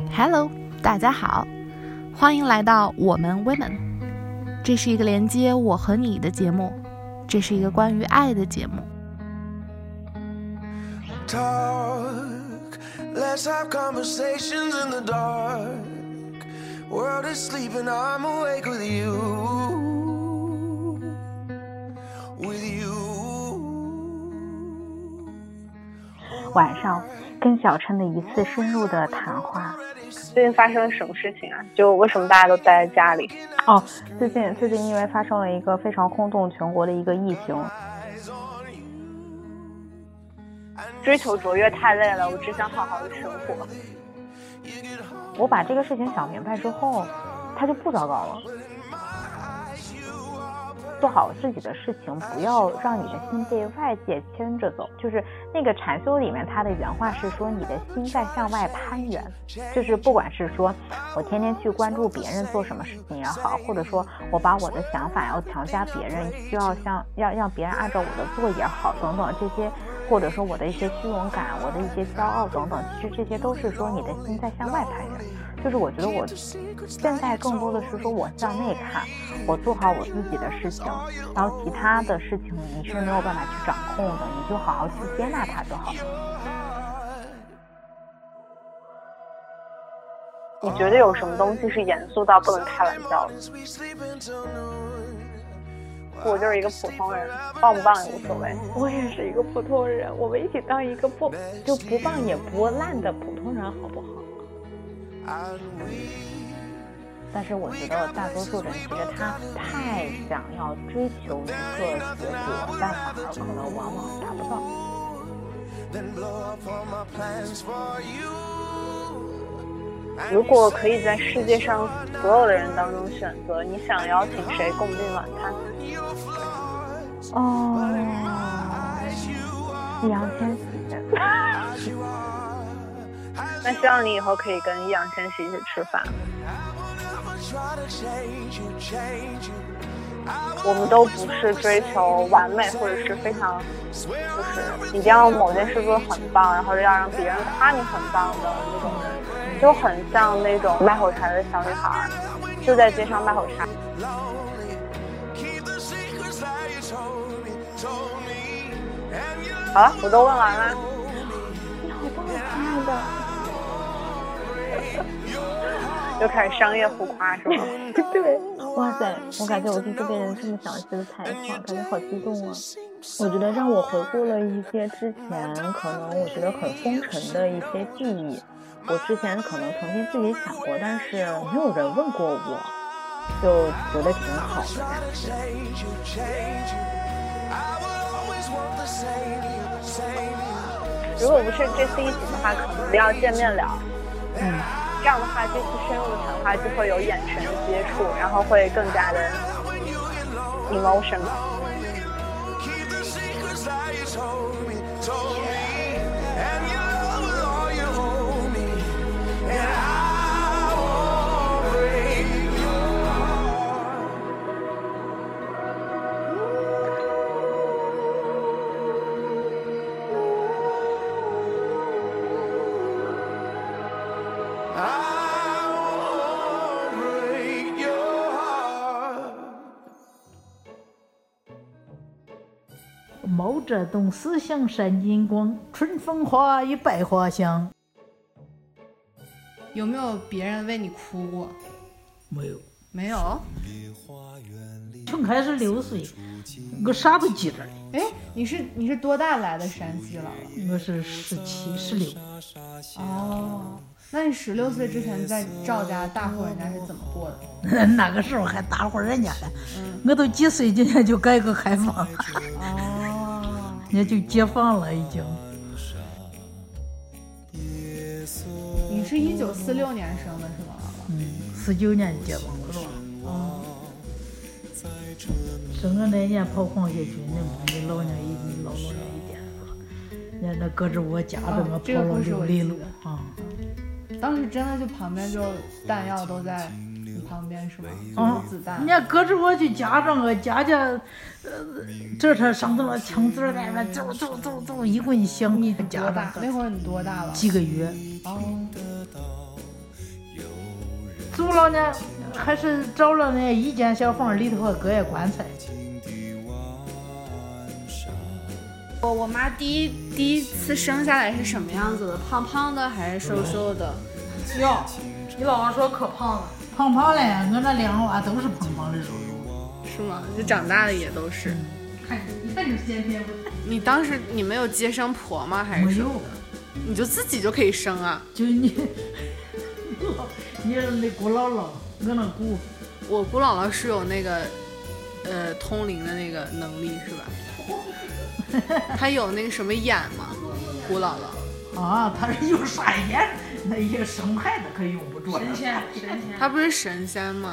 Hello， 大家好，欢迎来到我们 Women。这是一个连接我和你的节目，这是一个关于爱的节目。 Let's have conversations in the dark. World is sleeping, I'm awake with you. With you. 晚上跟小琛的一次深入的谈话。 最近发生了什么事情啊？就为什么大家都待在家里？ 最近因为发生了一个非常轰动全国的一个疫情。 追求卓越太累了，我只想好好的生活。 我把这个事情想明白之后，它就不糟糕了。做好自己的事情，不要让你的心被外界牵着走。就是那个禅修里面，他的原话是说，你的心在向外攀援。就是不管是说我天天去关注别人做什么事情也好，或者说我把我的想法要强加别人，需要让别人按照我的做也好，等等这些。或者说我的一些虚荣感，我的一些骄傲等等，其实这些都是说你的心在向外攀援。就是我觉得我现在更多的是说我向内看，我做好我自己的事情，然后其他的事情你是没有办法去掌控的，你就好好去接纳它就好了。 你觉得有什么东西是严肃到不能开玩笑的？我就是一个普通人，棒不棒也无所谓。 我也是一个普通人，我们一起当一个不棒也不烂的普通人，好不好？但是我觉得大多数人其实他太想要追求一个结果，但反而可能往往达不到。 如果可以在世界上所有的人当中选择，你想邀请谁共进晚餐？ 易烊千玺。 那希望你以后可以跟易烊千玺一起吃饭。我们都不是追求完美，或者是非常就是一定要某件事做得很棒，然后要让别人夸你很棒的那种人，就很像那种卖火柴的小女孩，就在街上卖火柴。好了，我都问完了。 你好棒，亲爱的。 又开始商业互夸是吗？ 对，哇塞，我感觉我第一次被人这么详细的采访，感觉好激动啊！我觉得让我回顾了一些之前可能我觉得很风尘的一些记忆，我之前可能曾经自己想过，但是没有人问过我，就觉得挺好的感觉。 如果不是这次疫情的话，可能要见面聊。这样的话，这次深入的谈话就会有眼神的接触，然后会更加的 emotional。 毛泽东思想闪金光，春风化雨百花香。 有没有别人为你哭过？没有。 从开始6岁，我啥不记得。 哎，你是多大来的山西了？ 我是17、16。 哦，那你16岁之前在赵家大户人家是怎么过的？ 那个时候还大户人家呢，我都几岁今年就改革开放了。人家就解放了已经。 你是1946年生的是吗 ？49年解放了是吧？生个那年跑黄血军的嘛，你老娘一点是吧？人家那搁着我夹着我跑了6里路啊！ 当时真的就旁边就弹药都在你旁边是吗？就是子弹。 人家搁着我去夹着我夹，这才上头了枪子在那走，一棍响。 你多大？那会儿你多大了？ 几个月。 哦。 租了呢，还是找了那一间小房，里头还搁一棺材。 我妈第一次生下来是什么样子的？胖胖的还是瘦瘦的？ 哟，你姥姥说可胖了，胖胖嘞，我那两个娃都是胖胖的瘦瘦。 是吗？就长大的也都是。 一看就是先天。 你当时你没有接生婆吗？还是没有？ 你就自己就可以生啊？ 就你那姑姥姥，我那姑， 我姑姥姥是有那个通灵的那个能力是吧？她有那个什么眼吗？姑姥姥啊，她是有啥眼？那一个生派的可用不着。神仙。 她不是神仙吗？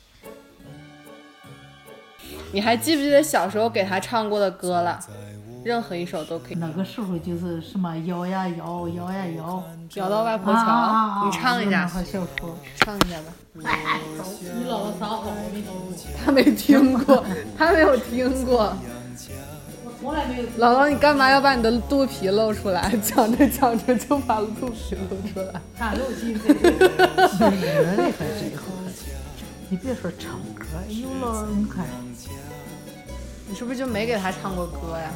你还记不记得小时候给她唱过的歌了？任何一首都可以。 那个时候就是什么摇呀摇，摇呀摇， 摇到外婆桥。你唱一下。唱一下吧。 你姥姥撒谎，我没听过。 她没听过，她没有听过。 我从来没有。 姥姥，你干嘛要把你的肚皮露出来？讲着讲着就把肚皮露出来。 看露心肺。热的还是好。你别说唱歌，有了你看。 你是不是就没给他唱过歌呀？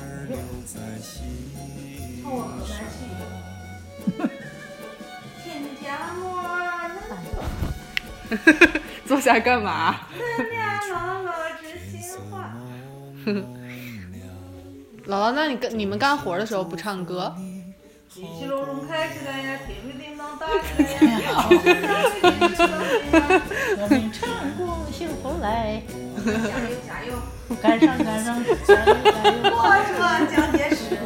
唱过河南戏。亲家母儿坐下干嘛？ 咱俩姥姥知心话。 姥姥，那你们干活的时候不唱歌？ 一起隆隆开起来呀，叮铃叮当打起来呀，我们成功幸福来。加油加油！赶上加油加油！我说蒋介石，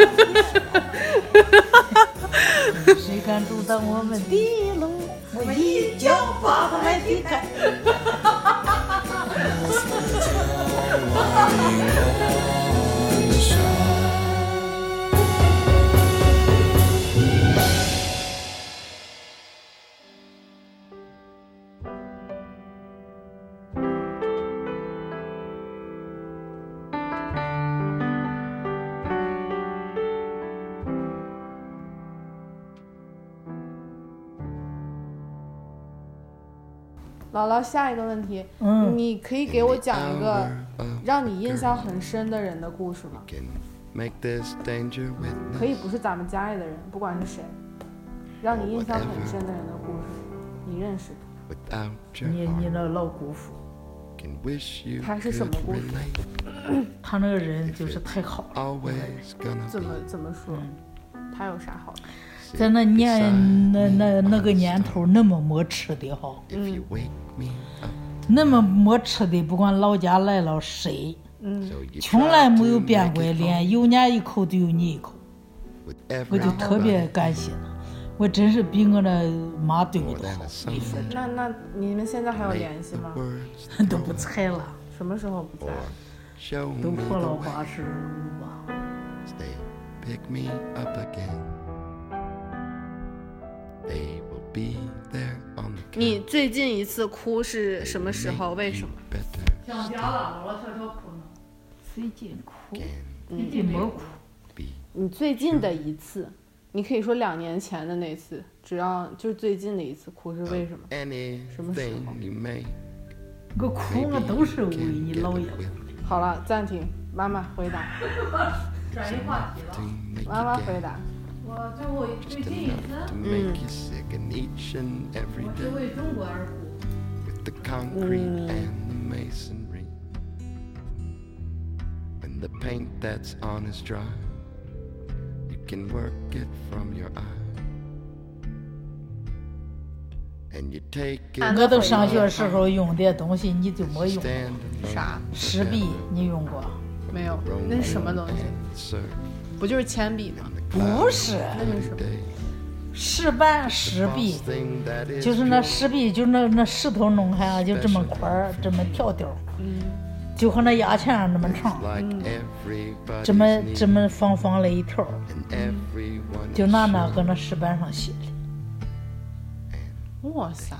谁敢阻挡我们的路？我一脚把他们踢开。 姥姥，下一个问题，你可以给我讲一个让你印象很深的人的故事吗？可以不是咱们家里的人，不管是谁，让你印象很深的人的故事，你认识的。 你那老姑父， 他是什么故事？ 他那个人就是太好了。 怎么说？他有啥好的？ 在那个年头那么没吃的哈，那么没吃的，不管老家来了谁，从来没有变过脸，有年一口就有你一口，我就特别感谢他，我真是比我那妈对我都好。 那你们现在还有联系吗？ 都不睬了。 什么时候不在？ 都过了85吧。 你最近一次哭是什么时候？为什么？ 想家了，老悄悄哭呢。最近哭，最近没哭。 你最近的一次，你可以说2年前的那次，只要就是最近的一次哭是为什么？什么时候？ 我哭我都是为你姥爷。 好了，暂停，妈妈回答。 转移话题了。 妈妈回答。 我最近一次，我是为中国而哭。 The paint that's on is dry, you can work it from your eye, and you take it. 我都上学时候用的东西你就没用过。 啥？ 石笔你用过？ 没有，那是什么东西？不就是铅笔吗？ 不是， 那是什么？ 石板石笔，就是那石笔，就那石头弄开啊，就这么块儿，这么条条，就和那牙签那么长，这么方了一条，就拿那搁那石板上写的。 哇塞！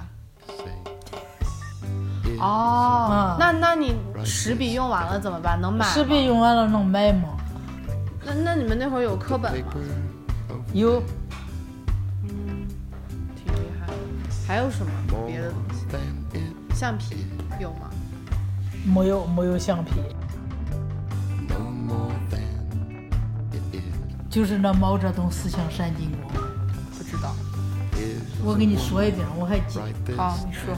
哦，那你石笔用完了怎么办？能买吗？ 石笔用完了能买吗？ 那你们那会儿有课本吗？ 有。 挺厉害的。还有什么别的东西？ 橡皮有吗？ 没有橡皮，就是那毛泽东思想闪金光。 不知道。 我给你说一遍，我还记得。 好，你说。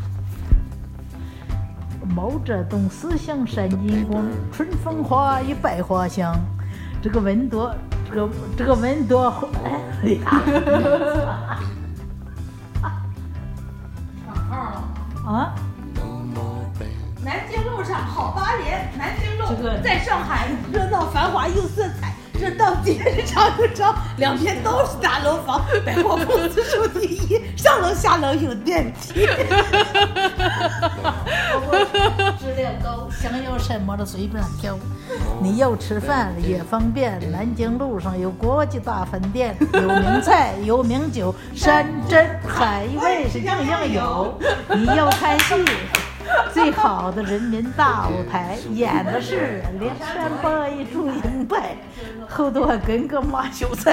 毛泽东思想闪金光，春风化雨百花香。这个温多，这个温多，哎呀！啊！ 南京路上好8年，南京路在上海热闹繁华有色彩，这到街上有照，两边都是大楼房，百货公司数第一，上楼下楼有电梯。 质量高，想要什么的随便挑。你要吃饭也方便，南京路上有国际大饭店，有名菜有名酒，山珍海味是样样有。你要看戏，最好的人民大舞台，演的是连山八一祝英台，后头还跟个马秀才。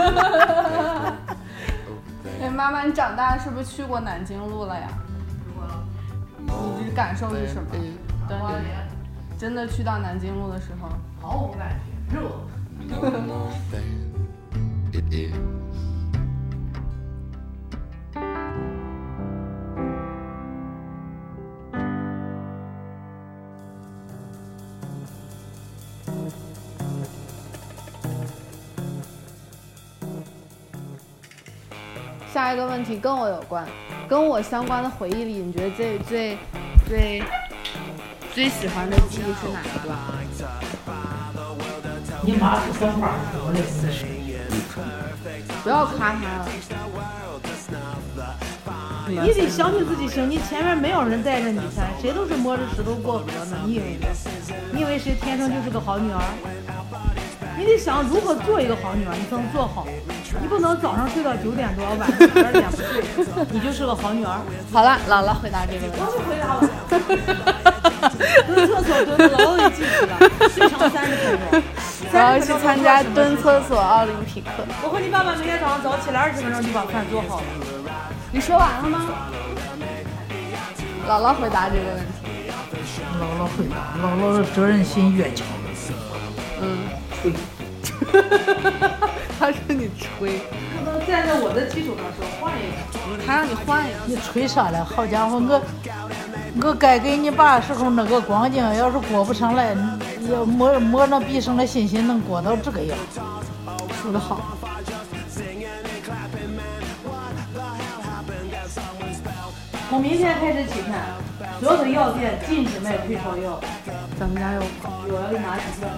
哎，妈妈，你长大是不是去过南京路了呀？你的感受是什么？当你真的去到南京路的时候， 毫无感觉，热。 下一个问题跟我有关，跟我相关的回忆里，你觉得最喜欢的记忆是哪一段？ 你妈是三花，我的思绪。 不要夸他了。 你得相信自己行，你前面没有人带着你噻，谁都是摸着石头过河呢。你以为谁天生就是个好女儿？你得想如何做一个好女儿，你才能做好。你不能早上睡到9点多，晚上12点不睡，你就是个好女儿。 好了，姥姥回答这个问题。 我不回答了。蹲厕所蹲的姥姥给记住了，最长30分钟。 我要去参加蹲厕所奥林匹克。 我和你爸爸每天早上早起来20分钟就把饭做好了。 你说完了吗？姥姥回答这个问题。 姥姥回答，姥姥的责任心越强。吹。 他说你吹， 不能站在我的基础上说换一个。 他让你换一个。 你吹啥了？好家伙，我该给你爸时候那个光景，要是过不上来，要摸那毕生的信心能过到这个样。 说得好。 从明天开始起看，所有的药店禁止卖退烧药。 咱们家有吗？ 我要给你拿几个。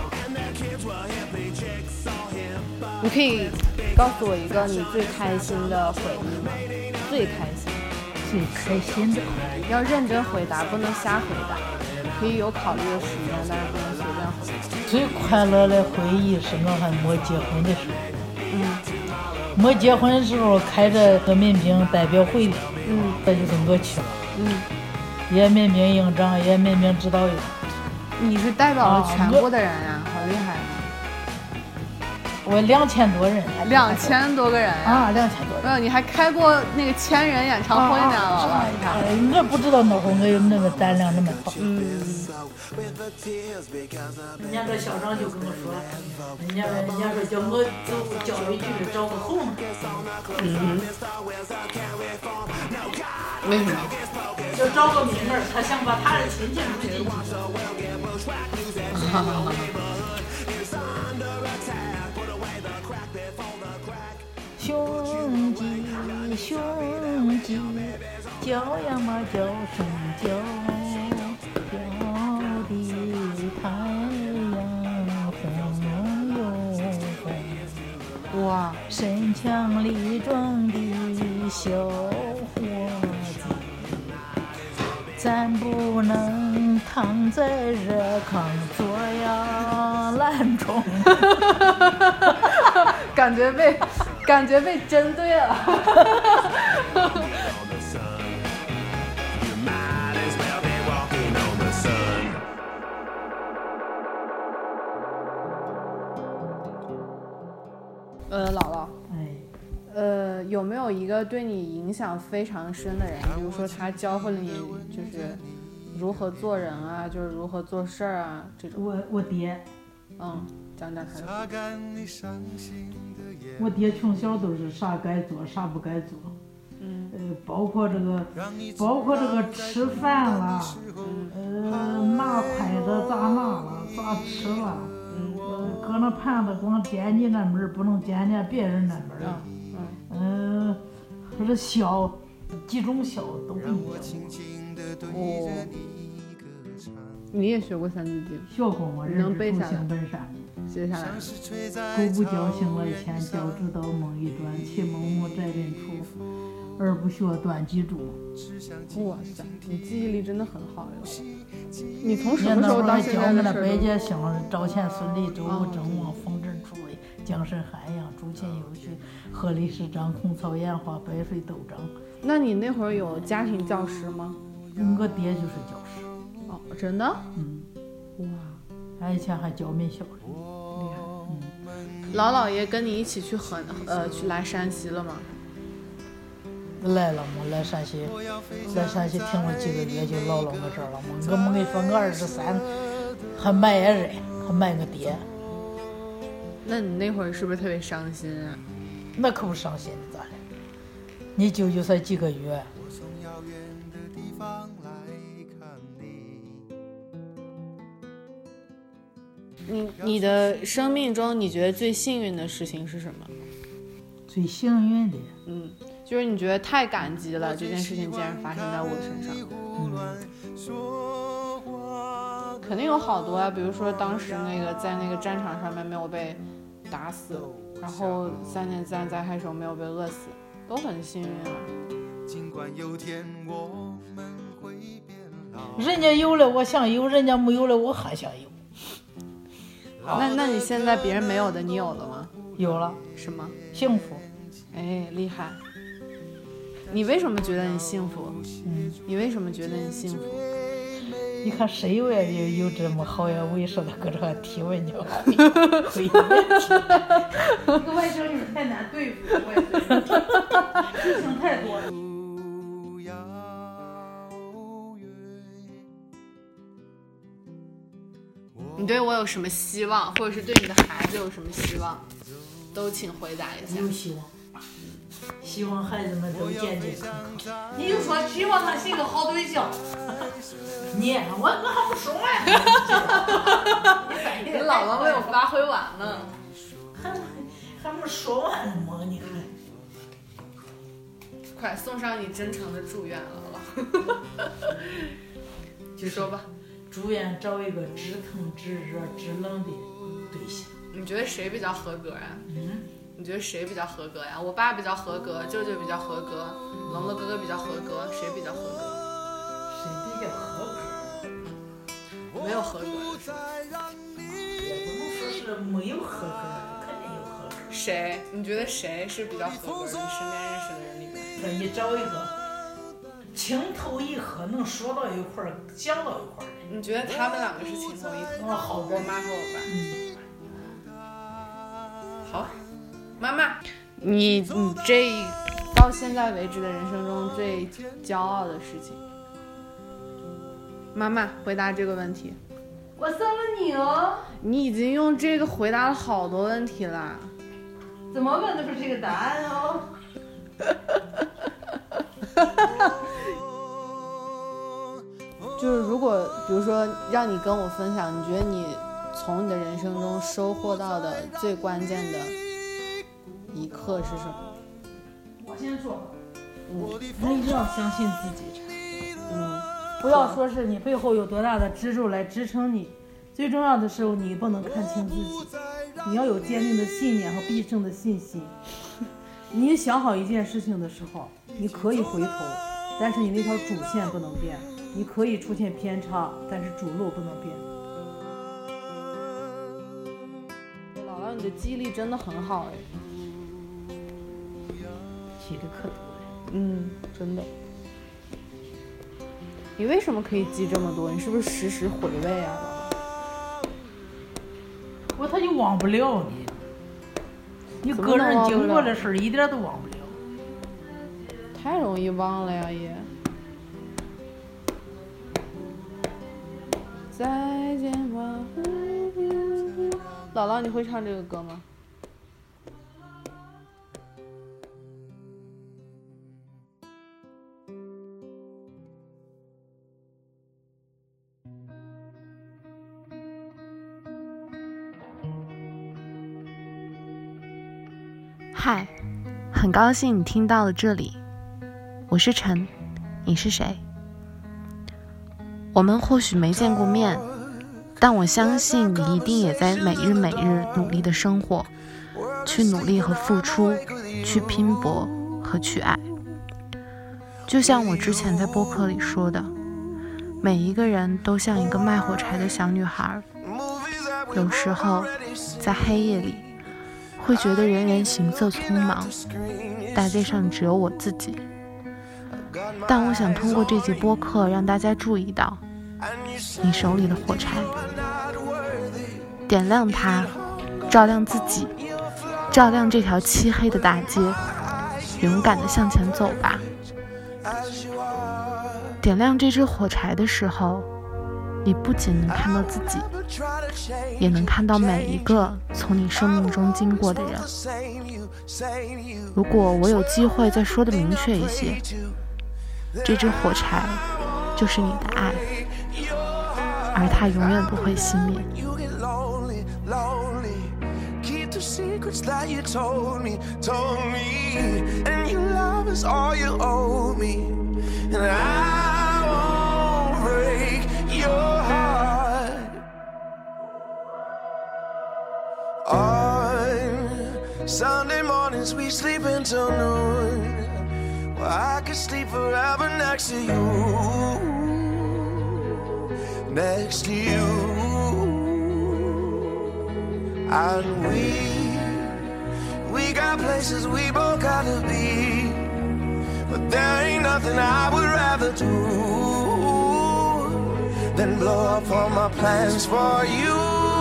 你可以告诉我一个你最开心的回忆吗？最开心的，要认真回答，不能瞎回答。可以有考虑的时间，但是不能随便回答。 最快乐的回忆是我还没结婚的时候。没结婚的时候开着个民兵代表会的。这就是我去了。也民兵营长，也民兵指导员。 你是代表了全国的人呀，好厉害！ 我2000多人 ，2000多个人啊，2000多人。 没有，你还开过那个1000人演唱会呢，姥姥。 我不知道那会儿我有那个胆量那么大。人家这校长就跟我说，人家说叫我走教育局找个后门。 为什么？ 就找个名门，他想把他的亲戚入进去。兄弟，叫呀嘛叫声叫，叫的太阳红又红。 哇， 身强力壮的小伙子，咱不能躺在热炕做呀懒虫。 感觉被针对了。姥姥， 有没有一个对你影响非常深的人？比如说他教会了你就是如何做人啊，就是如何做事儿啊这种。 我爹， 讲讲他的。 我爹从小都是啥该做啥不该做，包括这个吃饭啦，拿筷子咋拿了，咋吃了，搁那盘子光点你那门不能点别人那门，或者笑，几种笑都给你教过。 你也学过三字经？ 学过吗？ 能背下来？ 本善。 接下来， 狗不教醒了前，教之道梦一断。其蒙母宅人处，而不学断机杼。 哇塞，你记忆力真的很好哟！你从什么时候到现在的事？ 百家姓，赵钱孙李周吴郑王冯陈楚卫，江山汉阳，朱秦右徐，贺李氏张孔曹颜华，白水斗张。 那你那会儿有家庭教师吗？ 我爹就是教师。 哦，真的？哇， 他以前还教民校呢。 厉害。老姥爷跟你一起去来山西了吗？ 来了嘛，来山西停了几个月，就老我这儿了嘛。我跟你说，我23还卖人，还卖我爹。 那你那会儿是不是特别伤心啊？ 那可不伤心的咋的？你舅舅才几个月。 你的生命中，你觉得最幸运的事情是什么？ 最幸运的， 就是你觉得太感激了，这件事情竟然发生在我身上。肯定有好多啊，比如说当时在那个战场上面没有被打死，然后3年自然灾害时候没有被饿死，都很幸运啊。 人家有了我想有，人家没有了我还想有。 那你现在别人没有的你有了吗？ 有了。 什么？ 幸福。 哎，厉害。你为什么觉得你幸福？你为什么觉得你幸福？ 你看谁有这么好呀猥琐的搁这提问你？ 一个外甥女太难对付，我也是，事情太多了。 你对我有什么希望，或者是对你的孩子有什么希望，都请回答一下。 有希望，希望孩子们都健健康康。 你就说希望他是一个好对象。 我还不说完。 你姥姥没有发挥完呢， 还没说完呢吗？你看， 快送上你真诚的祝愿了。就说吧。 祝愿找一个知疼知热知冷的对象。 你觉得谁比较合格呀？你觉得谁比较合格呀？我爸比较合格，舅舅比较合格，龙龙哥哥比较合格，谁比较合格？ 谁比较合格？ 没有合格的。 也不能说是没有合格，肯定有合格。 谁？你觉得谁是比较合格？你身边认识的人里面， 可以找一个情投意合，能说到一块儿，讲到一块儿。 你觉得他们两个是情投意合？ 好， 我妈和我爸。好，妈妈，你这到现在为止的人生中最骄傲的事情，妈妈回答这个问题。 我生了你哦。 你已经用这个回答了好多问题了。 怎么问都是这个答案哦。 就是如果比如说让你跟我分享，你觉得你从你的人生中收获到的最关键的一刻是什么？ 我先说， 那一定要相信自己。 不要说是你背后有多大的支柱来支撑你，最重要的是你不能看清自己，你要有坚定的信念和必胜的信心。你想好一件事情的时候，你可以回头，但是你那条主线不能变。你可以出现偏差，但是主路不能变。 姥姥，你的记忆力真的很好哎， 记得可多了。 真的。你为什么可以记这么多？你是不是时时回味啊？ 他就忘不了你。 你个人经过的事一点都忘不了。 太容易忘了呀也。再见吧。姥姥，你会唱这个歌吗？ 嗨，很高兴你听到了这里，我是陈，你是谁？我们或许没见过面，但我相信你一定也在每日每日努力的生活，去努力和付出，去拼搏和去爱。就像我之前在播客里说的，每一个人都像一个卖火柴的小女孩，有时候在黑夜里会觉得人人行色匆忙，大街上只有我自己。但我想通过这集播客让大家注意到你手里的火柴，点亮它，照亮自己，照亮这条漆黑的大街，勇敢地向前走吧。点亮这支火柴的时候，你不仅能看到自己，也能看到每一个从你生命中经过的人。如果我有机会再说的明确一些，这支火柴就是你的爱，而它永远不会熄灭。 Sunday mornings we sleep until noon. Well, I could sleep forever next to you, next to you. And we got places we both gotta be, but there ain't nothing I would rather do than blow up all my plans for you.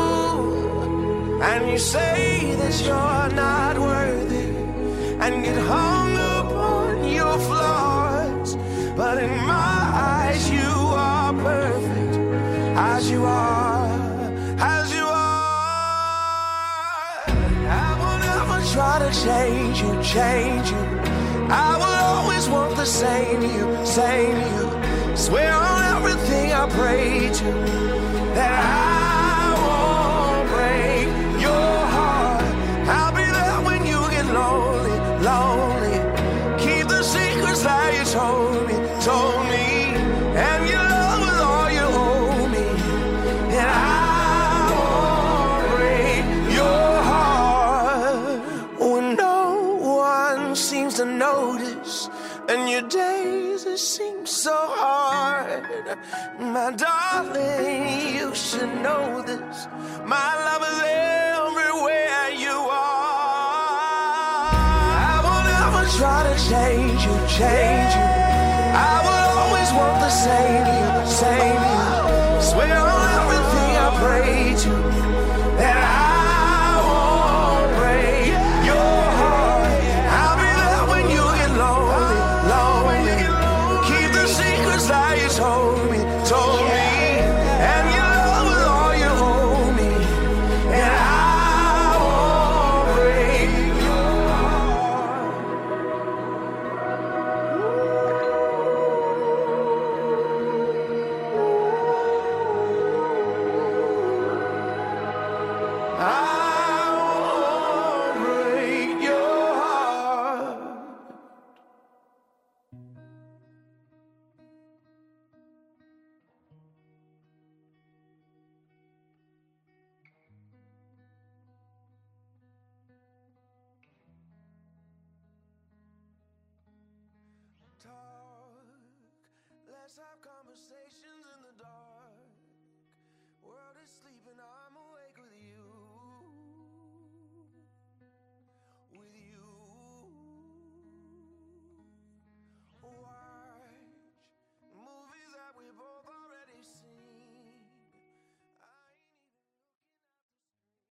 And you say that you're not worthy and get hung up on your flaws, but in my eyes you are perfect as you are, as you are. I will never try to change you, change you. I will always want the same you, same you. Swear on everything I pray to that I won't break your heart. I'll be there when you get lonely, lonely. Keep the secrets that you told me, and your love is all you owe me. And I won't break your heart when no one seems to notice, and your days it seems so hard. My darling, you should know this. My love is everywhere you are. I will never try to change you, change you. I will always want the same you, same you. Swear on everything I pray to that